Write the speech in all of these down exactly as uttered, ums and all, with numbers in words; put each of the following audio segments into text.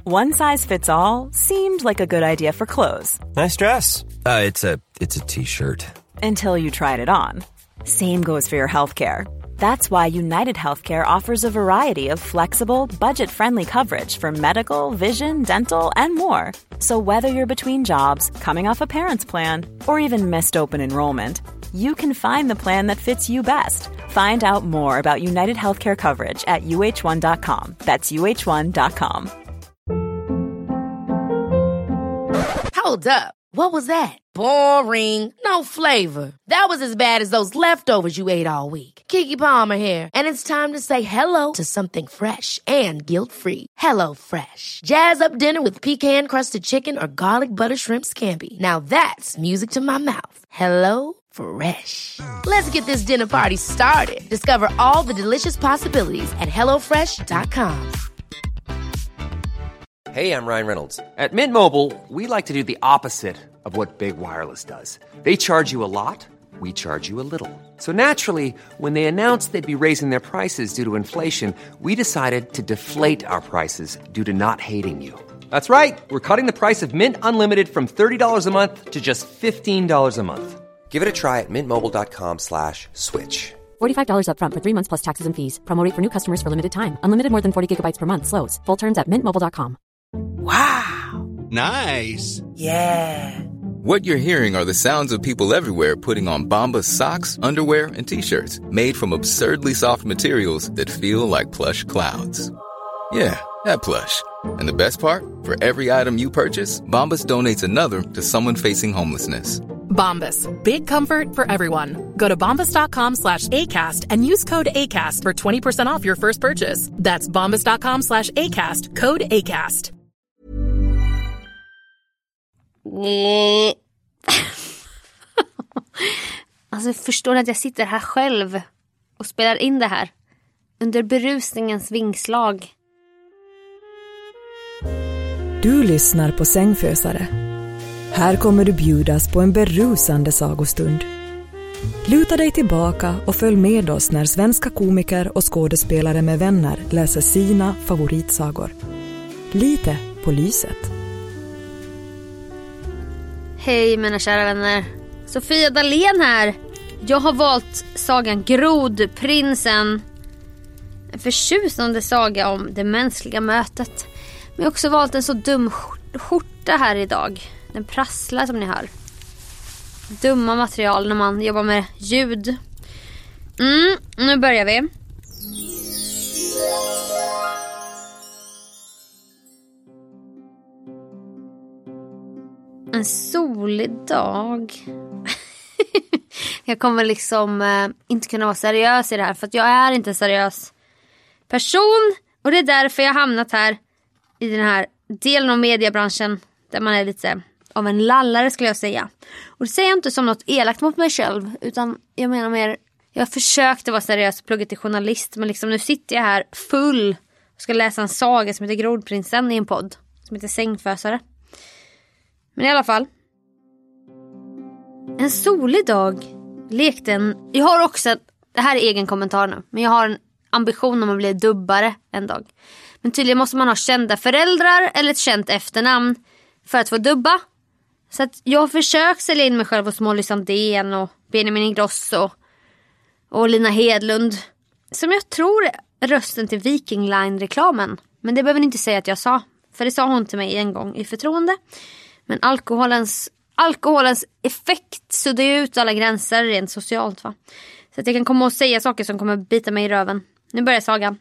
One size fits all seemed like a good idea for clothes. Nice dress. Uh, it's a it's a t-shirt. Until you tried it on. Same goes for your healthcare. That's why United Healthcare offers a variety of flexible, budget-friendly coverage for medical, vision, dental, and more. So whether you're between jobs, coming off a parent's plan, or even missed open enrollment, you can find the plan that fits you best. Find out more about United Healthcare coverage at U H one dot com. That's U H one dot com. Hold up. What was that? Boring. No flavor. That was as bad as those leftovers you ate all week. Keke Palmer here. And it's time to say hello to something fresh and guilt-free. Hello Fresh. Jazz up dinner with pecan-crusted chicken or garlic butter shrimp scampi. Now that's music to my mouth. Hello Fresh. Let's get this dinner party started. Discover all the delicious possibilities at hello fresh dot com. Hey, I'm Ryan Reynolds. At Mint Mobile, we like to do the opposite of what Big Wireless does. They charge you a lot, we charge you a little. So naturally, when they announced they'd be raising their prices due to inflation, we decided to deflate our prices due to not hating you. That's right. We're cutting the price of Mint Unlimited from thirty dollars a month to just fifteen dollars a month. Give it a try at mintmobile.com slash switch. forty-five dollars up front for three months plus taxes and fees. Promo rate for new customers for limited time. Unlimited more than forty gigabytes per month. Slows full terms at mint mobile dot com. Wow. Nice. Yeah. What you're hearing are the sounds of people everywhere putting on Bombas socks, underwear, and T-shirts made from absurdly soft materials that feel like plush clouds. Yeah, that plush. And the best part? For every item you purchase, Bombas donates another to someone facing homelessness. Bombas. Big comfort for everyone. Go to bombas.com slash ACAST and use code ACAST for twenty percent off your first purchase. That's bombas.com slash ACAST. Code ACAST. Alltså, förstår ni att jag sitter här själv och spelar in det här under berusningens vingslag? Du lyssnar på Sängfösare. Här kommer du bjudas på en berusande sagostund. Luta dig tillbaka och följ med oss när svenska komiker och skådespelare med vänner läser sina favoritsagor. Lite på lyset. Hej mina kära vänner. Sofia Dalén här. Jag har valt sagan Grodprinsen. En förtjusande saga om det mänskliga mötet. Men jag har också valt en så dum skjorta här idag. Den prasslar som ni hör. Dumma material när man jobbar med ljud. Mm, nu börjar vi. En solig dag. Jag kommer liksom eh, inte kunna vara seriös i det här. För att jag är inte en seriös person. Och det är därför jag har hamnat här i den här delen av mediebranschen. Där man är lite av en lallare skulle jag säga. Och det säger jag inte som något elakt mot mig själv. Utan jag menar mer, jag försökte vara seriös och plugga till journalist. Men liksom nu sitter jag här full och ska läsa en saga som heter Grodprinsen i en podd. Som heter Sängfösare. Men i alla fall. En solig dag lekte en... Jag har också... Det här är egen kommentar nu. Men jag har en ambition om att bli dubbare en dag. Men tydligen måste man ha kända föräldrar eller ett känt efternamn för att få dubba. Så att jag har försökt sälja in mig själv hos Molly Sandén och Benjamin Ingrosso och Lina Hedlund. Som jag tror är rösten till Viking Line-reklamen. Men det behöver ni inte säga att jag sa. För det sa hon till mig en gång i förtroende. Men alkoholens, alkoholens effekt suddar ju ut alla gränser rent socialt, va? Så att jag kan komma och säga saker som kommer bita mig i röven. Nu börjar sagan.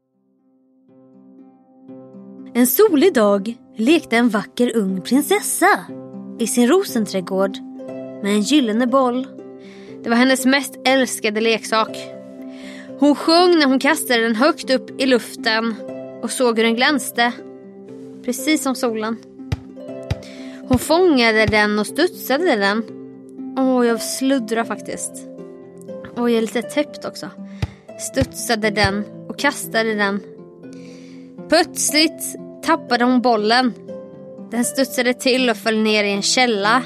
En solig dag lekte en vacker ung prinsessa i sin rosenträdgård med en gyllene boll. Det var hennes mest älskade leksak. Hon sjöng när hon kastade den högt upp i luften och såg hur den glänste, precis som solen. Hon fångade den och studsade den. Åh, jag sluddrar faktiskt. Och jag är lite täppt också. Studsade den och kastade den. Plötsligt tappade hon bollen. Den studsade till och föll ner i en källa.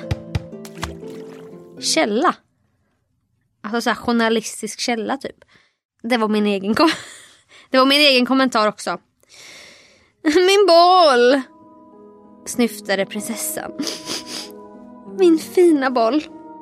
Källa? Alltså så här journalistisk källa typ. Det var min egen kom- Det var min egen kommentar också. Min boll! snyftade prinsessan. Min fina boll.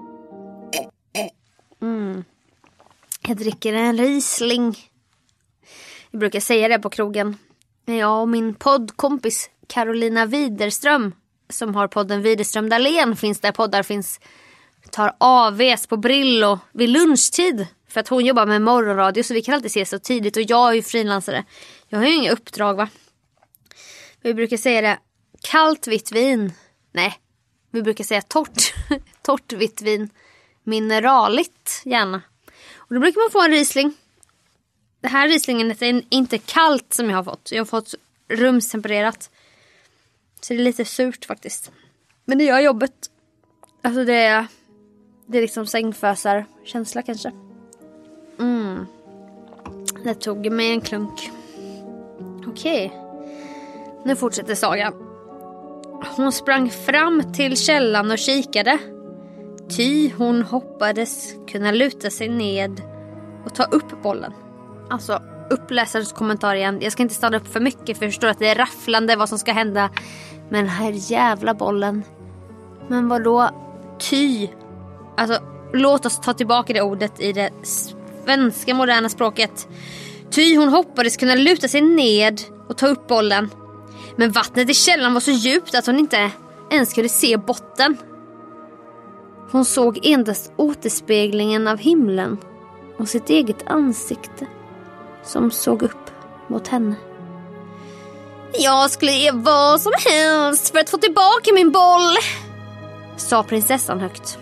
Mm. Jag dricker en Riesling. Jag brukar säga det på krogen. Jag och min poddkompis Carolina Widerström, som har podden Widerström Dahlén, finns där poddar finns, tar A Vs på Brillo vid lunchtid. För att hon jobbar med morgonradio, så vi kan alltid ses så tidigt. Och jag är ju frilansare. Jag har ju inga uppdrag, va? Vi brukar säga det. Kallt vitt vin. Nej, vi brukar säga torrt. Torrt vitt vin. Mineraligt, gärna. Och då brukar man få en Riesling. Det här Rieslingen är inte kallt som jag har fått. Jag har fått rumstempererat. Så det är lite surt faktiskt. Men det gör jobbet. Alltså det är... Det är liksom sängfösar känsla kanske. Mm. Det tog mig en klunk. Okej. Nu fortsätter sagan. Hon sprang fram till källan och kikade. Ty hon hoppades kunna luta sig ned och ta upp bollen. Alltså, uppläsarens kommentar igen. Jag ska inte stanna upp för mycket, för jag förstår att det är rafflande vad som ska hända. Men här jävla bollen. Men vadå? Ty. Alltså, låt oss ta tillbaka det ordet i det svenska moderna språket. Ty hon hoppades kunna luta sig ned och ta upp bollen. Men vattnet i källan var så djupt att hon inte ens kunde se botten. Hon såg endast återspeglingen av himlen och sitt eget ansikte som såg upp mot henne. Jag skulle ge vad som helst för att få tillbaka min boll, sa prinsessan högt.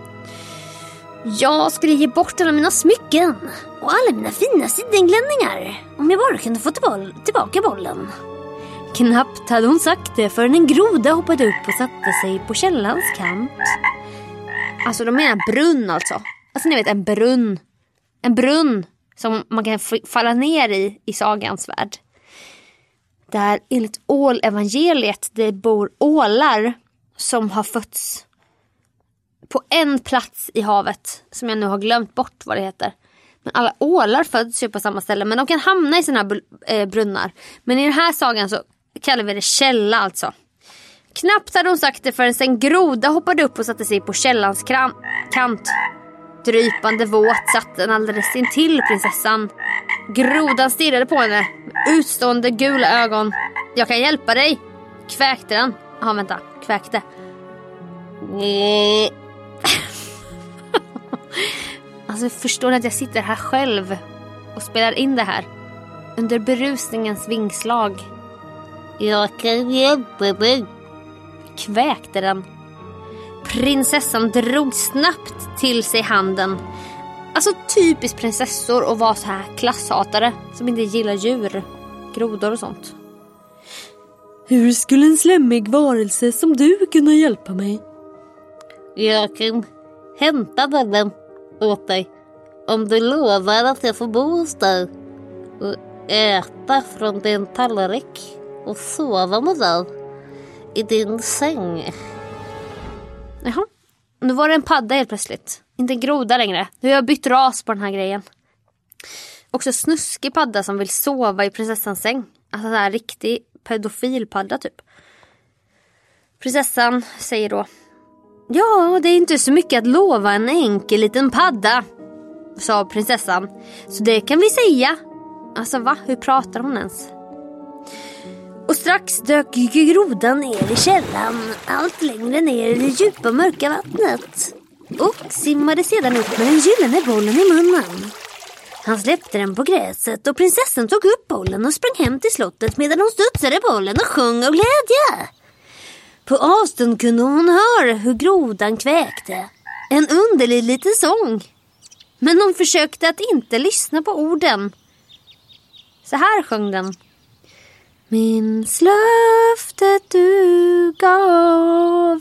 Jag skulle ge bort alla mina smycken och alla mina fina sidenglänningar om jag bara kunde få tillbaka bollen. Knappt hade hon sagt det förrän en groda hoppade upp och satte sig på källans kant. Alltså de menar brunn alltså. Alltså ni vet en brunn. En brunn som man kan f- falla ner i i sagans värld. Där enligt ålevangeliet det bor ålar som har fötts på en plats i havet som jag nu har glömt bort vad det heter. Men alla ålar föds ju på samma ställe, men de kan hamna i såna här brunnar. Men i den här sagan så kallar vi det källa alltså. Knappt hade hon sagt det förrän en groda hoppade upp och satte sig på källans kran- kant. Drypande våt satt den alldeles intill prinsessan. Grodan stirrade på henne med utstående gula ögon. Jag kan hjälpa dig, kväkte den. Jaha, vänta, kväkte. Alltså förstår ni att jag sitter här själv och spelar in det här under berusningens vingslag. Jag kan hjälpa dig, kväkte den. Prinsessan drog snabbt till sig handen. Alltså typiskt prinsessor att vara så här klasshatare som inte gillar djur, grodor och sånt. Hur skulle en slemmig varelse som du kunna hjälpa mig? Jag kan hämta den åt dig om du lovar att jag får bo hos dig och äta från din tallrik och sova med dig i din säng. Jaha, nu var det en padda helt plötsligt. Inte en groda längre. Nu har jag bytt ras på den här grejen. Också snuskig padda som vill sova i prinsessans säng. Alltså en riktig pedofilpadda typ. Prinsessan säger då: ja, det är inte så mycket att lova en enkel liten padda, sa prinsessan. Så det kan vi säga. Alltså va? Hur pratar hon ens? Och strax dök grodan ner i källan, allt längre ner i det djupa mörka vattnet, och simmade sedan upp med den gyllene bollen i munnen. Han släppte den på gräset och prinsessan tog upp bollen och sprang hem till slottet medan hon studsade bollen och sjöng av glädje. På avstånd kunde hon höra hur grodan kväkte. En underlig liten sång. Men hon försökte att inte lyssna på orden. Så här sjöng den. Minns löftet du gav,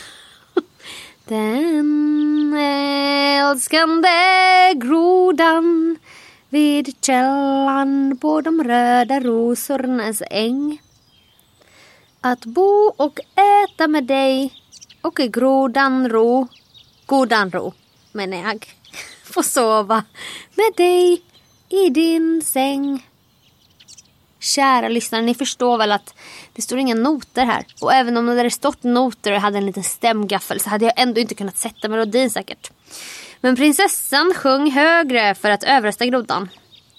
den älskande grodan vid källan på de röda rosornas äng. Att bo och äta med dig och i grodan ro, godan ro, men jag får sova med dig i din säng. Kära lyssnare, ni förstår väl att det står inga noter här. Och även om det hade stått noter och jag hade en liten stämgaffel så hade jag ändå inte kunnat sätta melodin säkert. Men prinsessan sjöng högre för att överrösta grodan.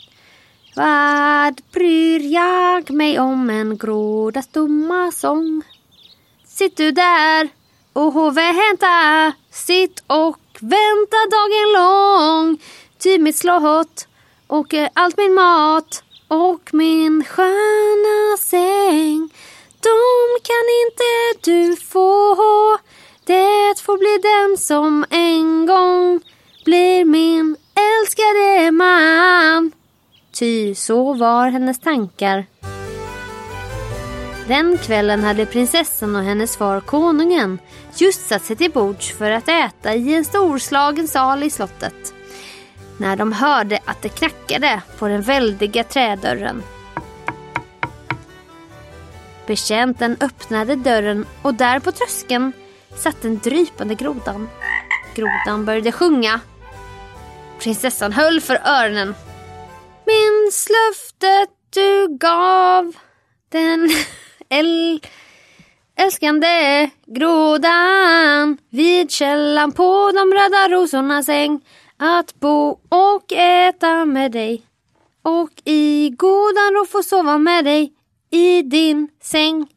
Vad bryr jag mig om en grodas dumma sång? Sitt du där och vänta, sitt och vänta dagen lång. Ty mitt slott och allt min mat och min sköna säng, de kan inte du få. Det får bli den som en gång blir min älskade man. Ty så var hennes tankar. Den kvällen hade prinsessan och hennes far konungen just satt sig till bords för att äta i en storslagen sal i slottet. När de hörde att det knackade på den väldiga trädörren. Betjänten öppnade dörren och där på tröskeln satt den drypande grodan. Grodan började sjunga. Prinsessan höll för öronen. Minns löftet du gav den äl- älskande grodan vid källan på de röda rosornas äng, att bo och äta med dig och i godan ro få sova med dig i din säng.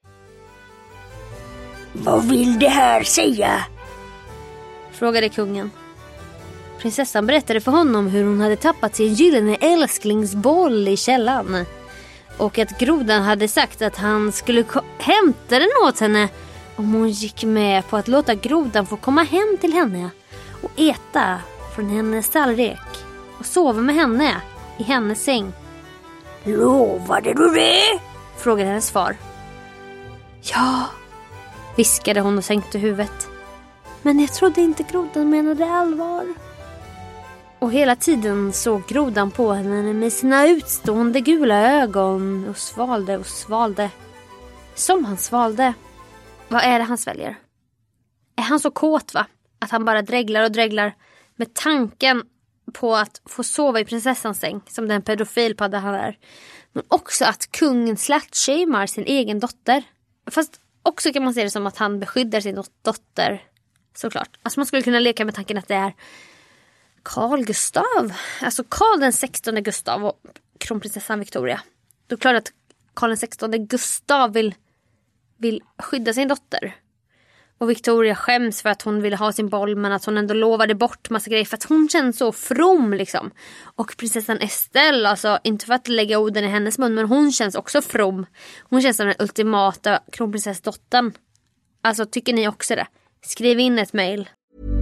Vad vill det här säga? Frågade kungen. Prinsessan berättade för honom hur hon hade tappat sin gyllene älsklingsboll i källan. Och att grodan hade sagt att han skulle ko- hämta den åt henne om hon gick med på att låta grodan få komma hem till henne och äta från hennes tallrik och sova med henne i hennes säng. Lovade du det? Frågade hennes far. Ja, viskade hon och sänkte huvudet. Men jag trodde inte grodan menade allvar. Och hela tiden såg grodan på henne med sina utstående gula ögon och svalde och svalde. Som han svalde. Vad är det han sväljer? Är han så kåt, va? Att han bara dreglar och dreglar med tanken på att få sova i prinsessans säng, som den pedofilpadda han är. Men också att kungen släktshamar sin egen dotter. Fast också kan man se det som att han beskyddar sin dotter. Såklart. Alltså man skulle kunna leka med tanken att det är Carl Gustav. Alltså Carl den sextonde Gustav och kronprinsessan Victoria. Då är det klart att Carl den sextonde Gustav vill, vill skydda sin dotter. Och Victoria skäms för att hon ville ha sin boll, men att hon ändå lovade bort massa grejer för att hon känns så from liksom. Och prinsessan Estelle, alltså inte för att lägga orden i hennes mun, men hon känns också from. Hon känns som den ultimata kronprinsessdottern. Alltså tycker ni också det? Skriv in ett mejl.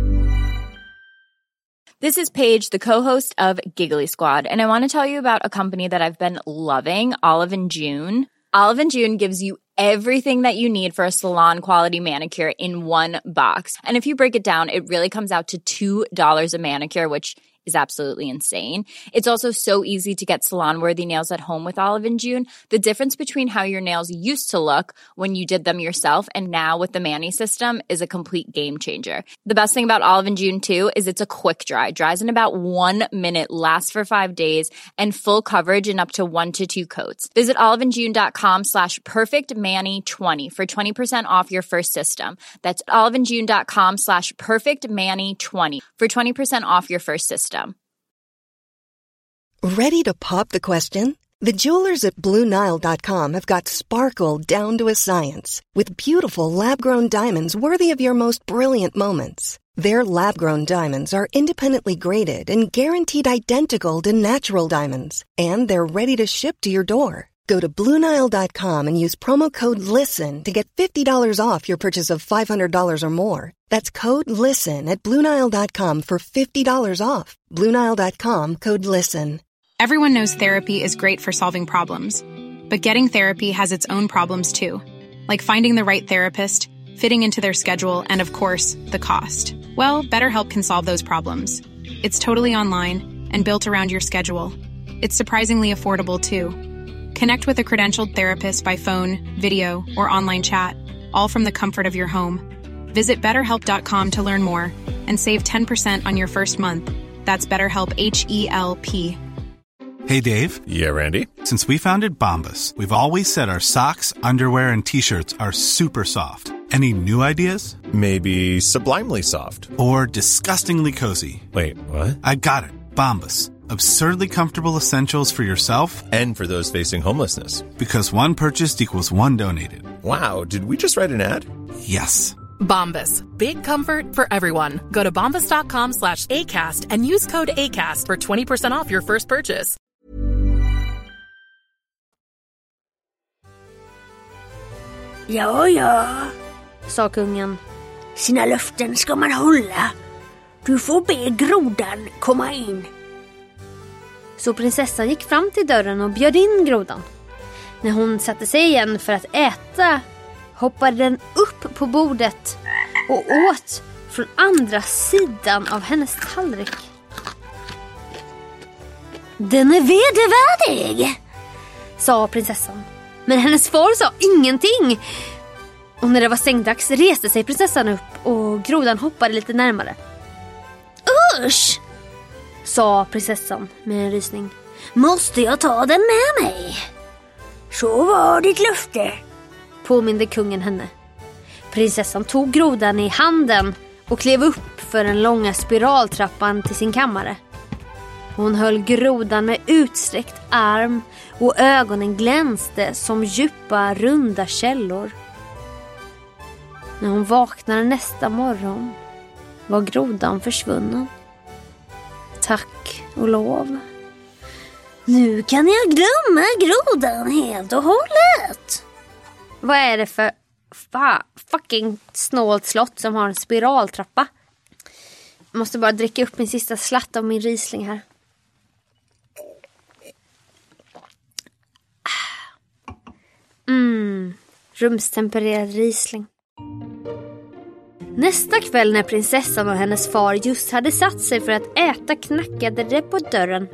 This is Paige, the co-host of Giggly Squad, and I want to tell you about a company that I've been loving, Olive and June. Olive and June gives you everything that you need for a salon quality manicure in one box. And if you break it down, it really comes out to two dollars a manicure, which is absolutely insane. It's also so easy to get salon-worthy nails at home with Olive and June. The difference between how your nails used to look when you did them yourself and now with the Mani system is a complete game changer. The best thing about Olive and June too is it's a quick dry. Dries in about one minute, lasts for five days, and full coverage in up to one to two coats. Visit oliveandjune.com slash perfectmani20 for twenty percent off your first system. That's oliveandjune.com slash perfectmani20 for twenty percent off your first system. Ready to pop the question? The jewelers at Blue Nile dot com have got sparkle down to a science with beautiful lab-grown diamonds worthy of your most brilliant moments. Their lab-grown diamonds are independently graded and guaranteed identical to natural diamonds, and they're ready to ship to your door. Go to Blue Nile dot com and use promo code LISTEN to get fifty dollars off your purchase of five hundred dollars or more. That's code LISTEN at Blue Nile dot com for fifty dollars off. Blue Nile dot com, code LISTEN. Everyone knows therapy is great for solving problems, but getting therapy has its own problems too, like finding the right therapist, fitting into their schedule, and of course, the cost. Well, BetterHelp can solve those problems. It's totally online and built around your schedule. It's surprisingly affordable too. Connect with a credentialed therapist by phone, video, or online chat, all from the comfort of your home. Visit better help dot com to learn more and save ten percent on your first month. That's BetterHelp, H E L P. Hey, Dave. Yeah, Randy. Since we founded Bombas, we've always said our socks, underwear, and T-shirts are super soft. Any new ideas? Maybe sublimely soft. Or disgustingly cozy. Wait, what? I got it. Bombas. Absurdly comfortable essentials for yourself and for those facing homelessness. Because one purchased equals one donated. Wow, did we just write an ad? Yes. Bombas. Big comfort for everyone. Go to bombas.com slash ACAST and use code ACAST for twenty percent off your first purchase. Ja, ja, sa kungen. Sina löften ska man hålla. Du får be grodan komma in. Så prinsessan gick fram till dörren och bjöd in grodan. När hon satte sig igen för att äta hoppade den upp på bordet och åt från andra sidan av hennes tallrik. Den är vedervärdig, sa prinsessan. Men hennes far sa ingenting. Och när det var sängdags reste sig prinsessan upp och grodan hoppade lite närmare. Usch, sa prinsessan med en rysning. Måste jag ta den med mig? Så var ditt löfte, påminde kungen henne. Prinsessan tog grodan i handen och klev upp för den långa spiraltrappan till sin kammare. Hon höll grodan med utsträckt arm och ögonen glänste som djupa runda källor. När hon vaknade nästa morgon var grodan försvunnen. Tack och lov. Nu kan jag glömma grodan helt och hållet. Vad är det för fa- fucking snålt slott som har en spiraltrappa? Jag måste bara dricka upp min sista slatt av min Riesling här. Mm, rumstempererad Riesling. Nästa kväll när prinsessan och hennes far just hade satt sig för att äta knackade det på dörren.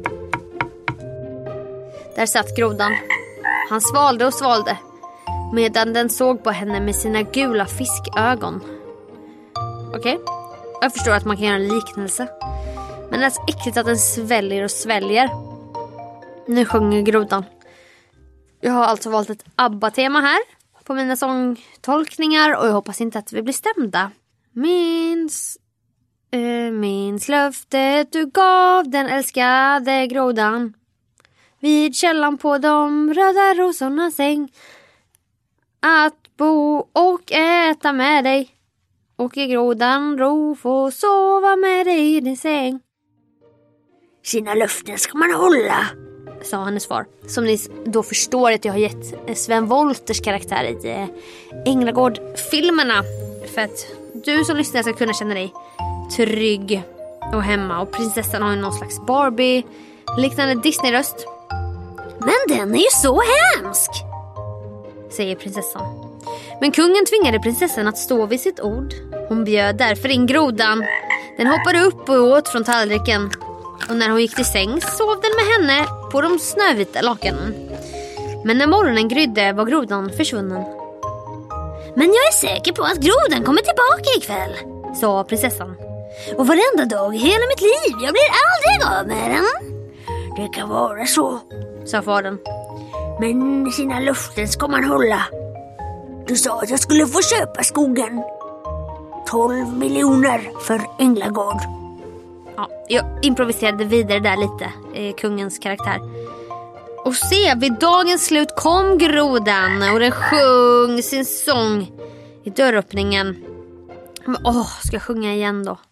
Där satt grodan. Han svalde och svalde medan den såg på henne med sina gula fiskögon. Okej, okay. Jag förstår att man kan göra en liknelse. Men det är så äckligt att den sväljer och sväljer. Nu sjunger grodan. Jag har alltså valt ett ABBA-tema här på mina sångtolkningar och jag hoppas inte att vi blir stämda. Minns, äh, minns löftet du gav den älskade grodan. Vid källan på de röda rosornas säng. Att bo och äta med dig. Och i grodan ro få sova med dig i din säng. Sina löften ska man hålla, sa hennes far. Som ni då förstår att jag har gett Sven Wolters karaktär i Änglagård-filmerna. För att du som lyssnar ska kunna känna dig trygg och hemma. Och prinsessan har ju någon slags Barbie liknande Disney-röst. Men den är ju så hemsk, säger prinsessan. Men kungen tvingade prinsessan att stå vid sitt ord. Hon bjöd därför in grodan. Den hoppade upp och åt från tallriken. Och när hon gick till sängs sov den med henne på de snövita lakanen. Men när morgonen grydde var grodan försvunnen. Men jag är säker på att grodan kommer tillbaka ikväll, sa prinsessan. Och varenda dag i hela mitt liv, jag blir aldrig av med den. Det kan vara så, sa fadern. Men sina löften ska man hålla. Du sa att jag skulle få köpa skogen. tolv miljoner för Änglagård. Ja, jag improviserade vidare där lite, eh, kungens karaktär. Och se, vid dagens slut kom grodan och den sjöng sin sång i dörröppningen. Men åh, ska jag sjunga igen då?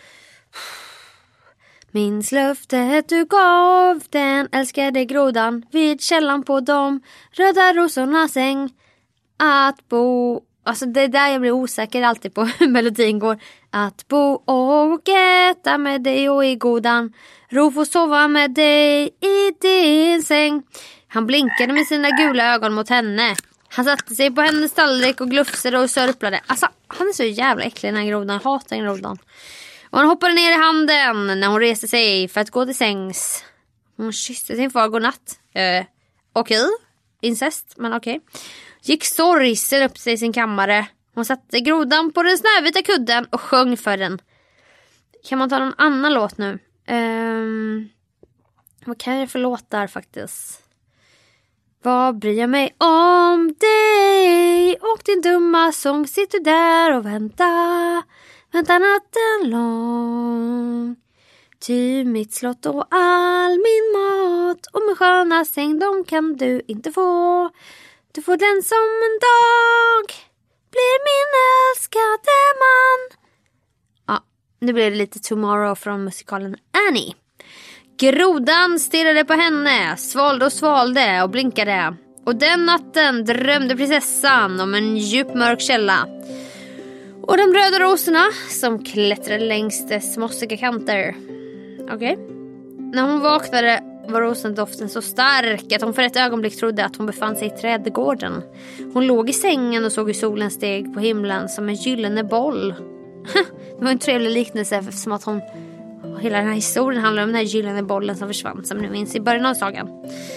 Minns löftet du gav den älskade grodan vid källan på de röda rosornas säng. Att bo... Alltså det är där jag blir osäker alltid på hur melodin går. Att bo och äta med dig och i godan. Ro få sova med dig i din säng. Han blinkade med sina gula ögon mot henne. Han satte sig på hennes tallrik och glufsade och sörplade. Alltså han är så jävla äcklig den här grodan. Jag hatar den grodan. Och han hoppade ner i handen när hon reste sig för att gå till sängs. Hon kysste sin far godnatt. Eh, okej. Okay. Incest, men okej. Okay. Gick sorgsen upp sig i sin kammare. Hon satte grodan på den snövita kudden och sjöng för den. Kan man ta någon annan låt nu? Um, Vad kan jag för låtar faktiskt? Vad bryr jag mig om dig och din dumma sång, sitter där och väntar, väntar natten lång. Ty mitt slott och all min mat och min sköna säng, de kan du inte få. Du får den som en dag blir min älskade man. Ja, nu blir det lite Tomorrow från musikalen Annie. Grodan stirrade på henne, svalde och svalde och blinkade. Och den natten drömde prinsessan om en djup mörk källa. Och de röda rosorna som klättrade längs dess mossiga kanter. Okej. Okay. När hon vaknade var rosendoften så stark att hon för ett ögonblick trodde att hon befann sig i trädgården. Hon låg i sängen och såg hur solen steg på himlen som en gyllene boll. Det var en trevlig liknelse eftersom att hon... Hela den här historien handlar om den här gyllene bollen som försvann, som ni minns i början av sagan.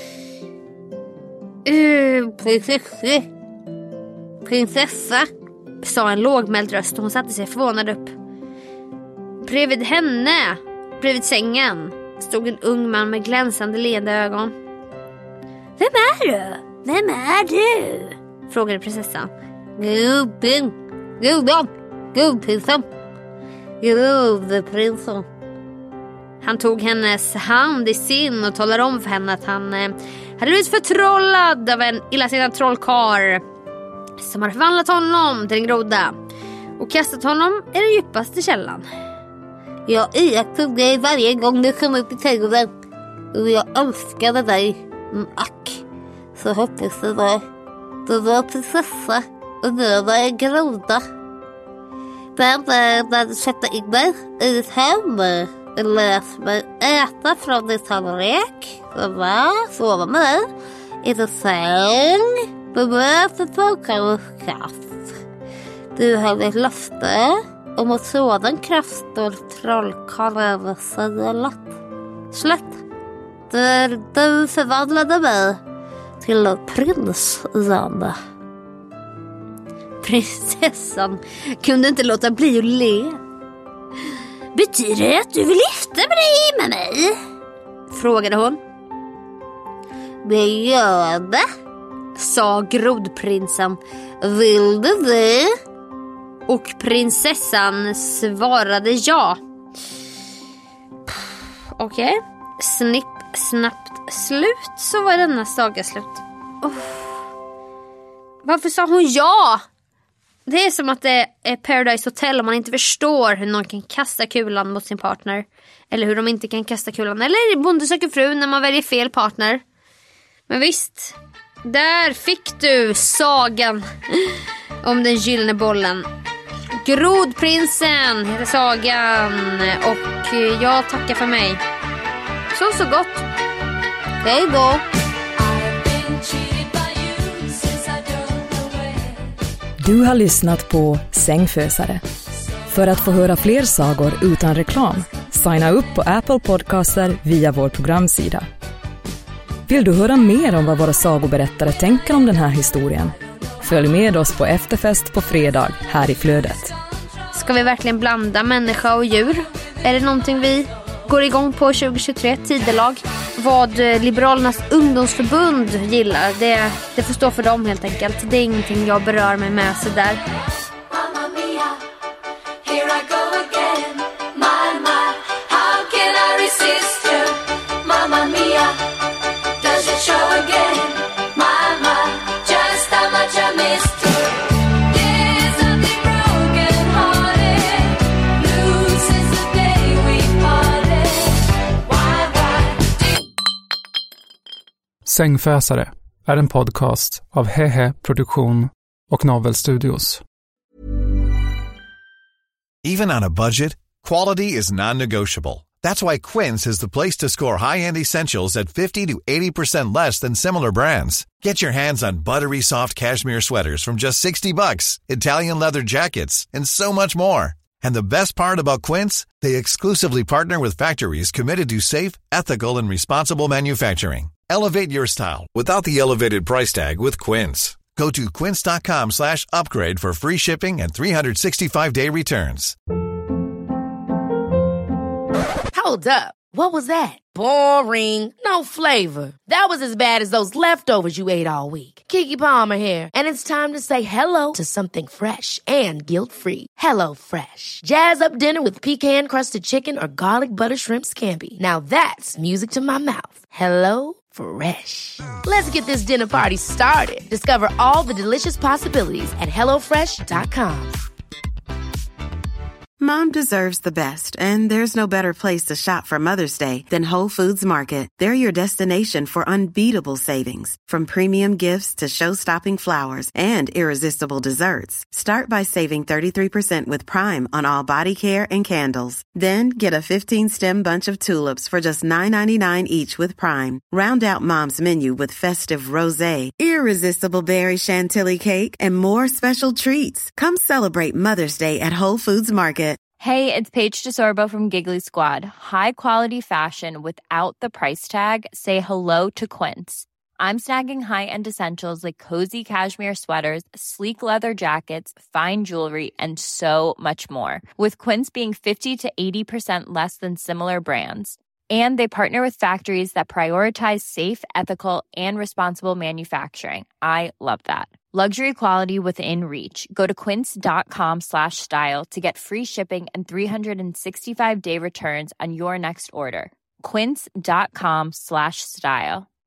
Uh, prinsessa. Prinsessa, sa en lågmäld röst och hon satte sig förvånad upp. Bredvid henne, bredvid sängen, stod en ung man med glänsande leende ögon. Vem är du? Vem är du? Frågade prinsessan. Gubben, gubben, gubbprinsen. Gubbenprinsen. Han tog hennes hand i sin och talade om för henne att han eh, hade blivit förtrollad av en illasinnad trollkarl som hade förvandlat honom till en groda och kastat honom i den djupaste källan. Jag iakttog dig varje gång du kom upp i trädgården och jag önskade dig. Mm, ack, så hoppas du det. Du var prinsessa och du var en groda. Men när du sätter in dig i ditt hem, läs mig äta från din tallrik, sova med dig i din säng, bemöt ett vågkaroskaft. Du har ett löfte om att sådan kraft och trollkarl säger slätt. Där du förvandlade mig till prins igen. Prinsessan kunde inte låta bli att le. Betyder det att du vill gifta dig med mig? Frågade hon. Det gör det, sa grodprinsen. Vill du det? Och prinsessan svarade ja. Okej, okay. Snipp, snabbt slut, så var denna saga slut. Oh. Varför sa hon ja? Det är som att det är Paradise Hotel om man inte förstår hur någon kan kasta kulan mot sin partner. Eller hur de inte kan kasta kulan. Eller Bonde söker fru när man väljer fel partner. Men visst, där fick du sagan om den gyllene bollen. Grodprinsen heter sagan. Och jag tackar för mig. Så så gott. Hej då. Du har lyssnat på Sängfösare. För att få höra fler sagor utan reklam, signa upp på Apple Podcaster via vår programsida. Vill du höra mer om vad våra sagoberättare tänker om den här historien? Följ med oss på efterfest på fredag här i Flödet. Ska vi verkligen blanda människa och djur? Är det någonting vi går igång på tjugo tjugotre, tidelag? Vad Liberalernas ungdomsförbund gillar, det, det får stå för dem helt enkelt. Det är ingenting jag berör mig med så där. Sängfösare är en podcast av Hehe Produktion och Novel Studios. Even on a budget, quality is non-negotiable. That's why Quince is the place to score high-end essentials at fifty to eighty percent less than similar brands. Get your hands on buttery soft cashmere sweaters from just sixty bucks, Italian leather jackets, and so much more. And the best part about Quince, they exclusively partner with factories committed to safe, ethical, and responsible manufacturing. Elevate your style without the elevated price tag with Quince. Go to quince.com slash upgrade for free shipping and three sixty-five day returns. Hold up. What was that? Boring. No flavor. That was as bad as those leftovers you ate all week. Keke Palmer here, and it's time to say hello to something fresh and guilt-free. Hello Fresh. Jazz up dinner with pecan-crusted chicken or garlic butter shrimp scampi. Now that's music to my mouth. Hello Fresh. Let's get this dinner party started. Discover all the delicious possibilities at hello fresh dot com. Mom deserves the best, and there's no better place to shop for Mother's Day than Whole Foods Market. They're your destination for unbeatable savings, from premium gifts to show-stopping flowers and irresistible desserts. Start by saving thirty-three percent with Prime on all body care and candles. Then get a fifteen-stem bunch of tulips for just nine ninety-nine each with Prime. Round out Mom's menu with festive rosé, irresistible berry chantilly cake, and more special treats. Come celebrate Mother's Day at Whole Foods Market. Hey, it's Paige DeSorbo from Giggly Squad. High quality fashion without the price tag. Say hello to Quince. I'm snagging high-end essentials like cozy cashmere sweaters, sleek leather jackets, fine jewelry, and so much more. With Quince being fifty to eighty percent less than similar brands. And they partner with factories that prioritize safe, ethical, and responsible manufacturing. I love that. Luxury quality within reach. Go to quince.com slash style to get free shipping and three sixty-five day returns on your next order. Quince.com slash style.